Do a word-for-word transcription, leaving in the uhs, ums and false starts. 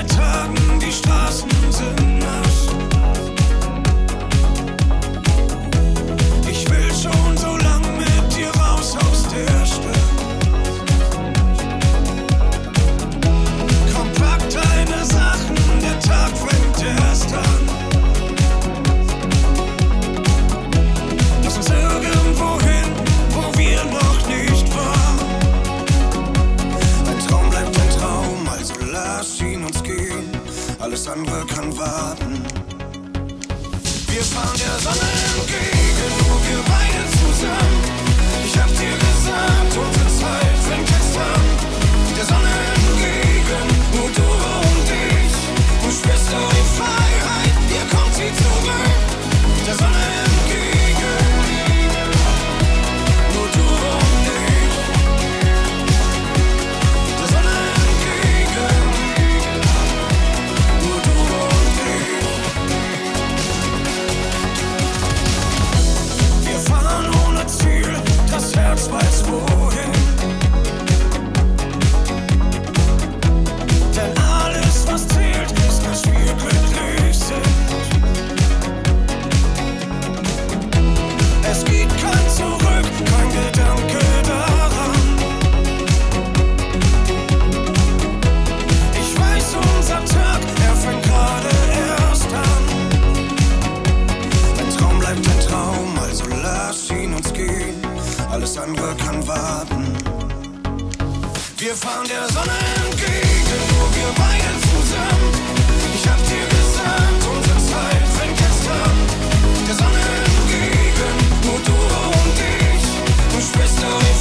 Seit Tagen, die Straßen sind nass. Ich will schon so lang mit dir raus aus der Stadt. Komm, pack deine Sachen, der Tag fängt erst an. Lass uns irgendwo hin, wo wir noch nicht waren. Ein Traum bleibt ein Traum, also lass ihn uns gehen. Alles andere kann warten. Wir fahren der Sonne entgegen, nur wir beide zusammen. Ich hab dir gesagt, unsere Zeit fängt jetzt an. Der Sonne entgegen, nur du und ich. Du spürst du die Freiheit, hier kommt sie zurück. Der Sonne entgegen, nur du und ich. Der Sonne entgegen, nur du und ich. Wir fahren ohne Ziel, das Herz weiß wohin. Denn alles, was zählt, ist, dass wir glücklich sind. Es gibt kein Zurück, kein Gedanke daran. Ich weiß, unser Tag, er fängt gerade erst an. Ein Traum bleibt ein Traum, also lass ihn uns gehen. Alles andere kann warten. Wir fahren der Sonne entgegen, nur wir beide zusammen. Ich hab dir gesagt, unsere Zeit fängt jetzt an. Der Sonne entgegen, nur du und ich. Du spürst du